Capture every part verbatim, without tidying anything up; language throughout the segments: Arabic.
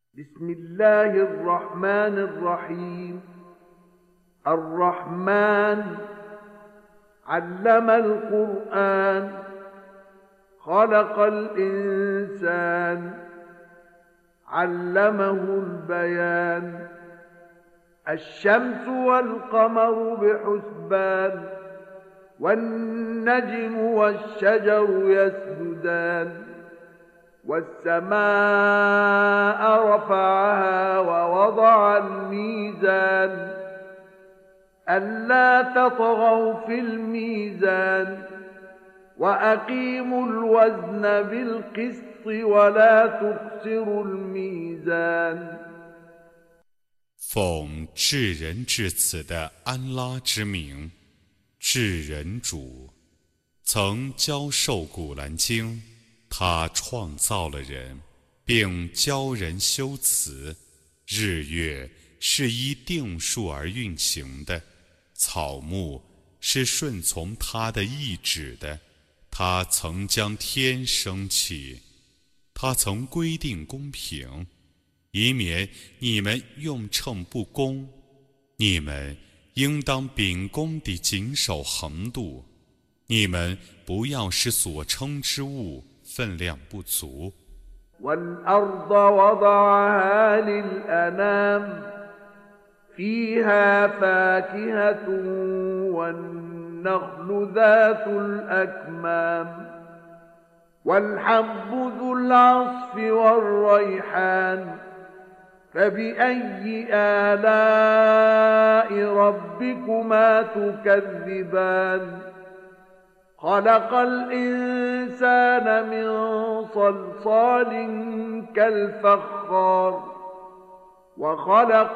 بسم الله الرحمن الرحيم الرحمن علم القرآن خلق الإنسان علمه البيان الشمس والقمر بحسبان والنجم والشجر يسجدان والسماء رفعها ووضع الميزان ألا تطغوا في الميزان وأقيموا الوزن بالقسط ولا تخسروا الميزان 奉至仁至慈的安拉之名，至仁主曾教授古兰经，他创造了人，并教人修辞。日月是依定数而运行的，草木是顺从他的意志的。他曾将天升起，他曾规定公平，以免你们用秤不公。你们应当秉公地谨守衡度，你们不要使所称之物分量不足。 والأرض وضعها للأنام فيها فاكهة والنخل ذات الأكمام والحب ذو العصف والريحان فبأي آلاء ربكما تكذبان خلق الإنسان من صلصال كالفخار وخلق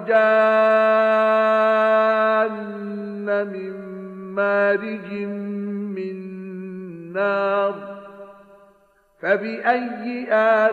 الجان من مارج من نار فبأي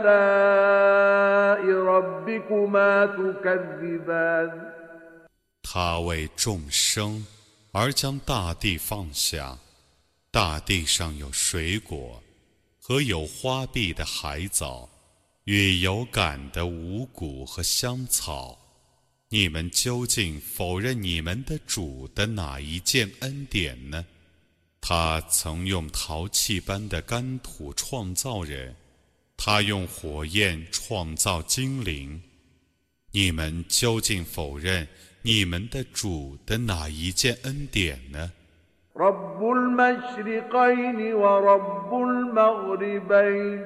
آلاء ربكما تكذبان 他为众生而将大地放下，大地上有水果和有花碧的海藻，与有感的五谷和香草。你们究竟否认你们的主的哪一件恩典呢？他曾用陶器般的干土创造人，他用火焰创造精灵。你们究竟否认你们的主的哪一件恩典呢 رب المشرقين ورب المغربين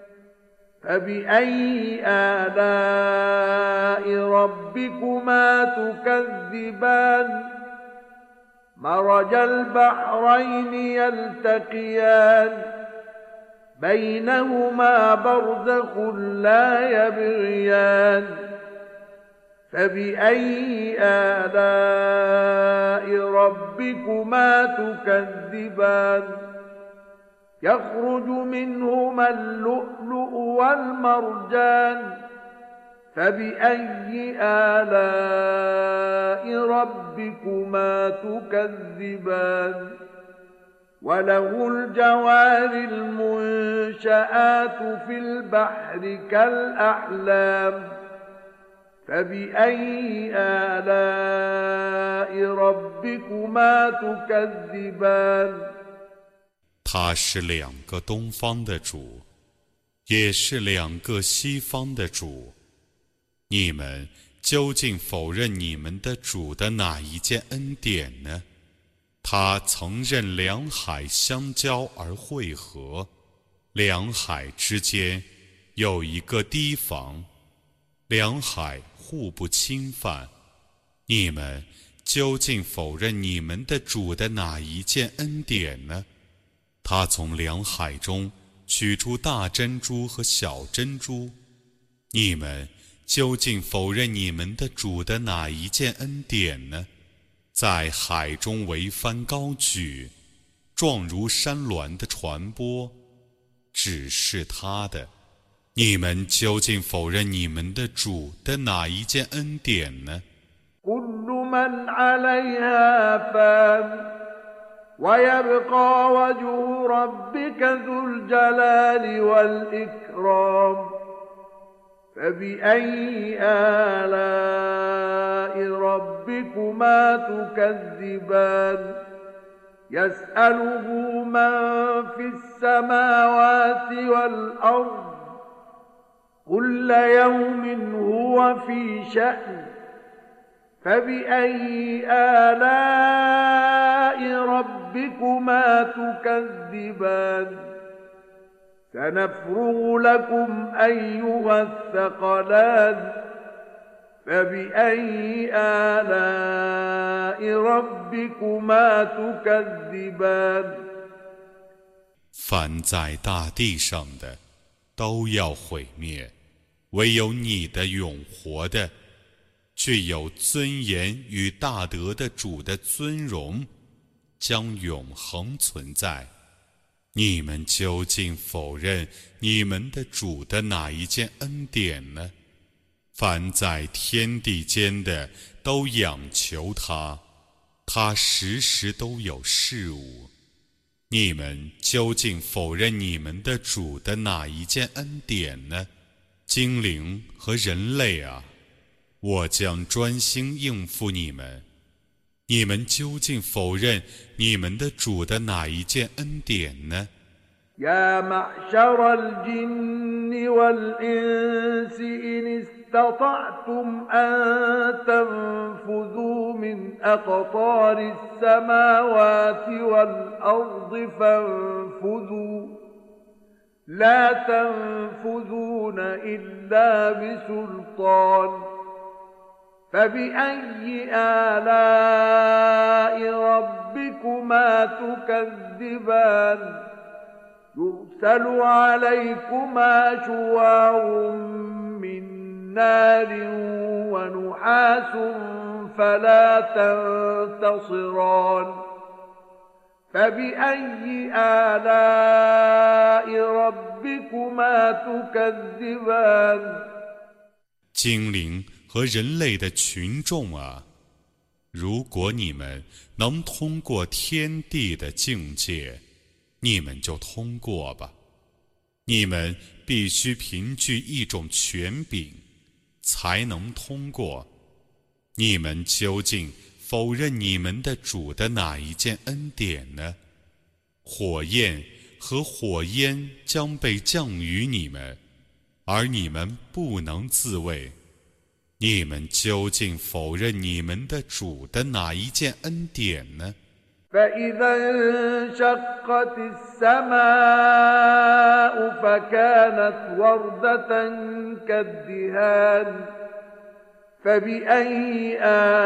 فبأي آلاء ربكما تكذبان مرج البحرين يلتقيان بينهما برزخ لا يبغيان فبأي آلاء ربكما تكذبان يخرج منهما اللؤلؤ والمرجان فبأي آلاء ربكما تكذبان وله الجوار المنشآت في البحر كالأعلام فبأي آلاء ربكما تكذبان 他是两个东方的主，也是两个西方的主。你们究竟否认你们的主的哪一件恩典呢？他曾任两海相交而汇合，两海之间有一个堤防，两海互不侵犯。你们究竟否认你们的主的哪一件恩典呢？他从两海中取出大珍珠和小珍珠。你们究竟否认你们的主的哪一件恩典呢？在海中桅帆高举，状如山峦的传播，只是他的。你们究竟否认你们的主的哪一件恩典呢？ كل من عليها فان ويبقى وجه ربك ذو الجلال والإكرام فبأي آلاء ربكما تكذبان يسأله من في السماوات والأرض كل يوم هو في شأن فبأي آلاء ربكما تكذبان سنفرغ لكم أيها الثقلان فبأي آلاء ربكما تكذبان 凡在大地上的都要毁灭，唯有你的永活的、具有尊严与大德的主的尊荣将永恒存在。你们究竟否认你们的主的哪一件恩典呢？凡在天地间的都仰求他，他时时都有事物。你们究竟否认你们的主的哪一件恩典呢？精灵和人类啊，我将专心应付你们。你们究竟否认你们的主的哪一件恩典呢？ يا معشر الجن والإنس إن استطعتم أن تنفذوا من أقطار السماوات والأرض فانفذوا لا تنفذون إلا بسلطان فبأي آلاء ربكما تكذبان يرسل عليكما شواظ من نار ونحاس فلا تنتصران فبأي آلاء ربكما تكذبان 精灵和人类的群众啊，如果你们能通过天地的境界，你们就通过吧。你们必须凭据一种权柄才能通过。你们究竟否认你们的主的哪一件恩典呢？火焰和火焰将被降于你们，而你们不能自卫。你们究竟否认你们的主的哪一件恩典呢？ فإذا انشقت السماء فكانت وردة كالدهان فبأي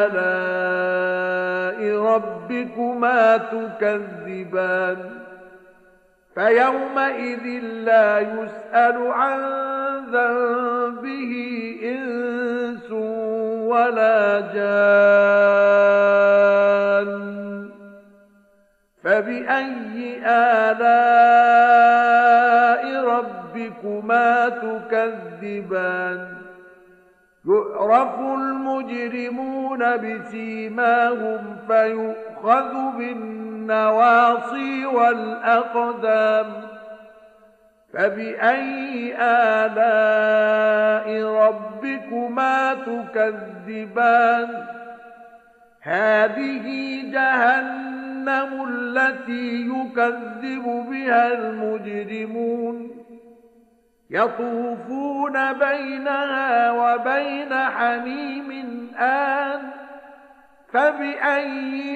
آلاء ربكما تكذبان فيومئذ لا يسأل عن ذنبه إنس ولا جان فبأي آلاء ربكما تكذبان يعرف المجرمون بسيماهم فيؤخذ بالنواصي والأقدام فبأي آلاء ربكما تكذبان هذه جهنم التي يكذب بها المجرمون يطوفون بينها وبين حميم آن فبأي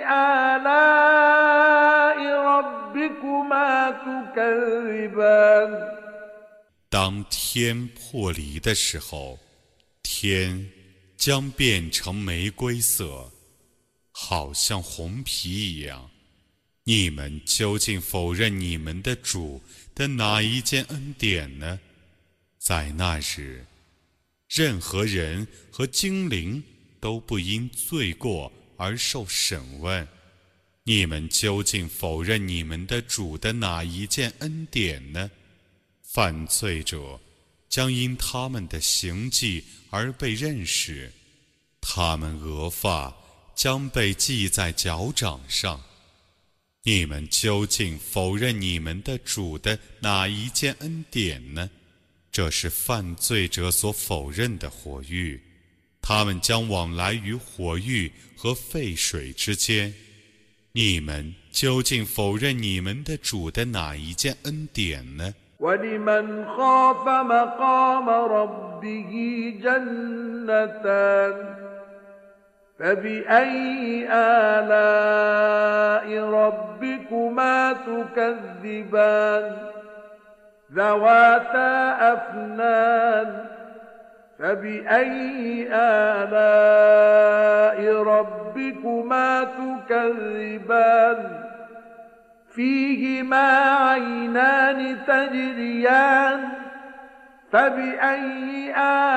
آلاء ربكما تكذبان 当天破离的时候，天将变成玫瑰色，好像红皮一样。你们究竟否认你们的主的哪一件恩典呢？在那日，任何人和精灵都不因罪过而受审问。你们究竟否认你们的主的哪一件恩典呢？犯罪者将因他们的行迹而被认识，他们额发将被系在脚掌上。你们究竟否认你们的主的哪一件恩典呢？ 这是犯罪者所否认的火域，他们将往来于火域和沸水之间。你们究竟否认你们的主的哪一件恩典呢？ وَلِمَنْ خَافَ مَقَامَ رَبِّهِ جَنَّتَانِ فَبِأَيِّ آلَاءِ رَبِّكُمَا تُكَذِّبَانِ ذَوَاتَا أَفْنَانٍ فَبِأَيِّ آلَاءِ رَبِّكُمَا تُكَذِّبَانِ فِيهِمَا عَيْنَانِ تَجْرِيَانِ فَبِأَيِّ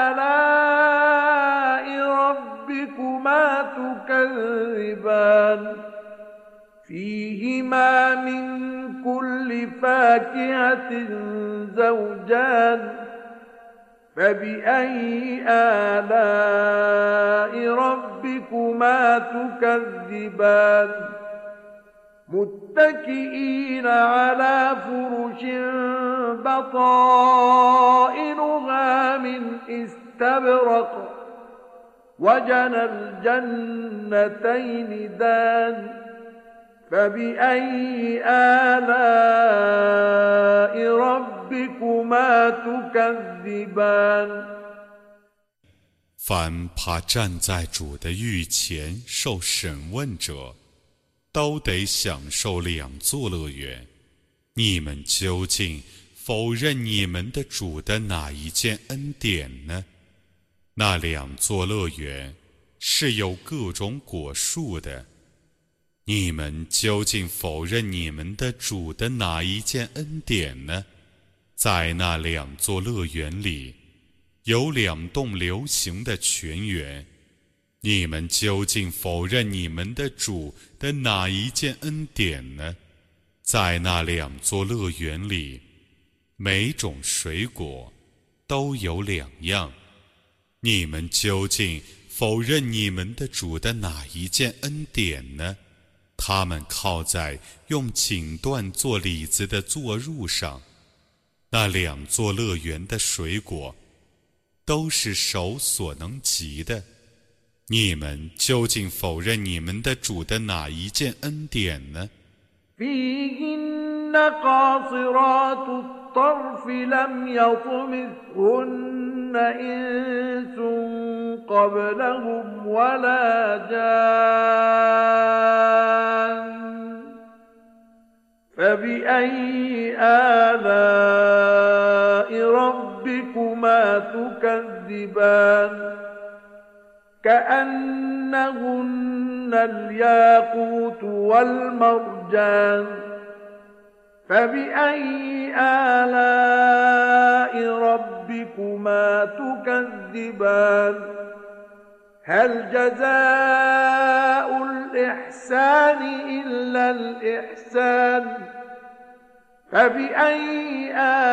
آلَاءِ رَبِّكُمَا تُكَذِّبَانِ فِيهِمَا مِن كُلِّ فَاكِهَةٍ زَوْجَانِ فَبِأَيِّ آلَاءِ رَبِّكُمَا تُكَذِّبَانِ متكئين على فرش بطائنها من استبرق وجنى الجنتين دان فبأي آلاء ربكما تكذبان 凡怕站在主的御前受审问者，都得享受两座乐园。你们究竟否认你们的主的哪一件恩典呢？那两座乐园是有各种果树的。你们究竟否认你们的主的哪一件恩典呢？在那两座乐园里，有两栋流行的泉源。你们究竟否认你们的主的哪一件恩典呢？在那两座乐园里，每种水果都有两样。你们究竟否认你们的主的哪一件恩典呢？他们靠在用锦缎做李子的坐褥上，那两座乐园的水果都是手所能及的。你们究竟否认你们的主的哪一件恩典呢？ فيهن قاصرات الطرف لم يطمثهن إنس قبلهم ولا جان فبأي آلاء ربكما تكذبان كأنهن الياقوت والمرجان فبأي آلاء ربكما تكذبان هل جزاء الإحسان إلا الإحسان فبأي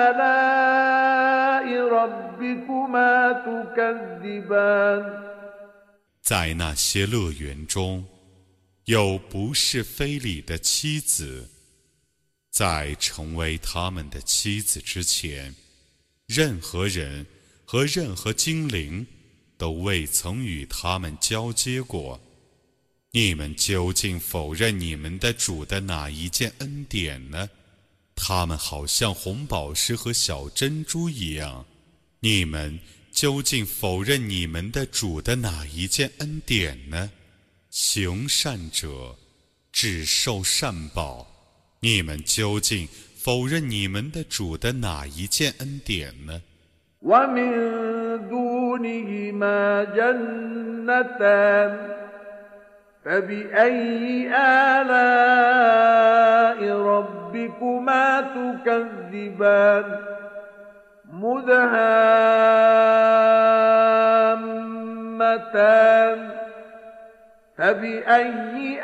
آلاء ربكما تكذبان 在那些乐园中，有不是非礼的妻子。在成为他们的妻子之前，任何人和任何精灵都未曾与他们交接过。你们究竟否认你们的主的哪一件恩典呢？他们好像红宝石和小珍珠一样。你们究竟否认你们的主的哪一件恩典呢？行善者只受善报。你们究竟否认你们的主的哪一件恩典呢？ ومن دونهما جنتان فبأي آلاء ربكما تكذبان مدهامتان فبأي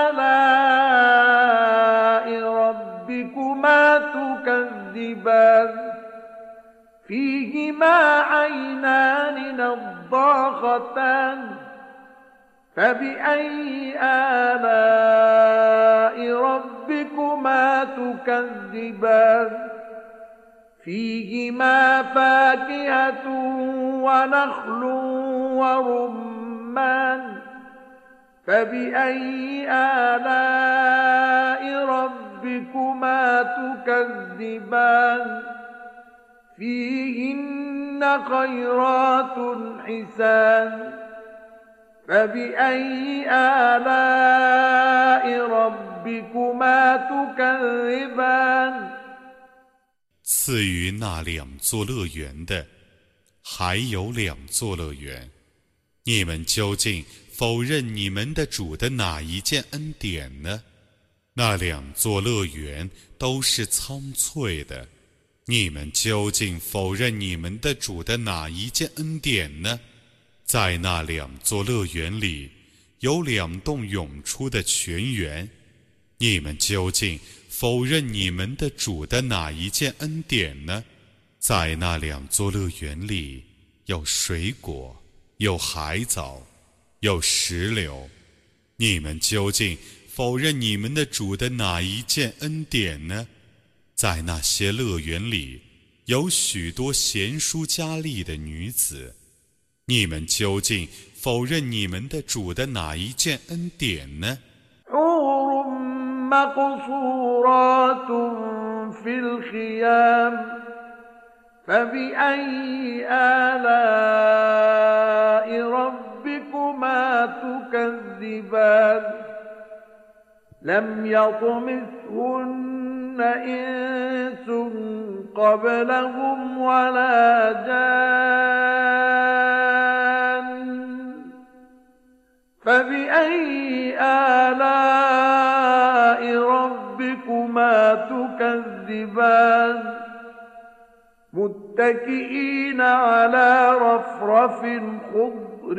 آلاء ربكما تكذبان فيهما عينان نضاختان فبأي آلاء ربكما تكذبان فيهما فاكهة ونخل ورمان فبأي آلاء ربكما تكذبان فيهن خيرات حسان فبأي آلاء ربكما تكذبان 赐予那两座乐园的，还有两座乐园，你们究竟否认你们的主的哪一件恩典呢？那两座乐园都是苍翠的，你们究竟否认你们的主的哪一件恩典呢？在那两座乐园里，有两栋涌出的泉源，你们究竟否认你们的主的哪一件恩典呢？在那两座乐园里，有水果，有海藻，有石榴，你们究竟否认你们的主的哪一件恩典呢？在那些乐园里，有许多贤淑佳丽的女子，你们究竟否认你们的主的哪一件恩典呢？ مقصورات في الخيام فبأي آلاء ربكما تكذبان لم يطمثهن إنس قبلهم ولا جان فبأي آلاء ربكما تكذبان متكئين على رفرف خضر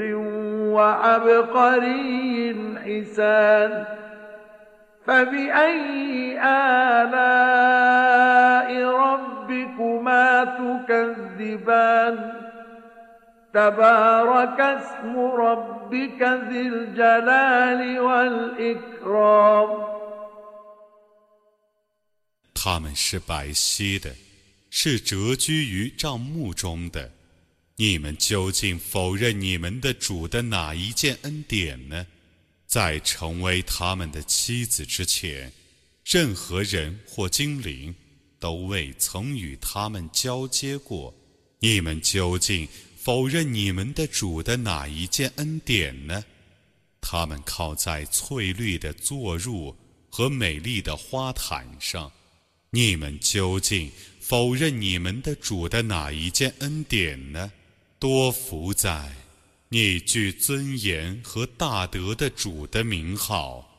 وعبقري حسان فبأي آلاء ربكما تكذبان تبارك اسم ربك ذي الجلال والإكرام 他们是白皙的，是蛰居于帐幕中的。你们究竟否认你们的主的哪一件恩典呢？在成为他们的妻子之前，任何人或精灵都未曾与他们交接过。你们究竟否认你们的主的哪一件恩典呢？他们靠在翠绿的坐褥和美丽的花毯上。你们究竟否认你们的主的哪一件恩典呢？多福在你具尊严和大德的主的名号。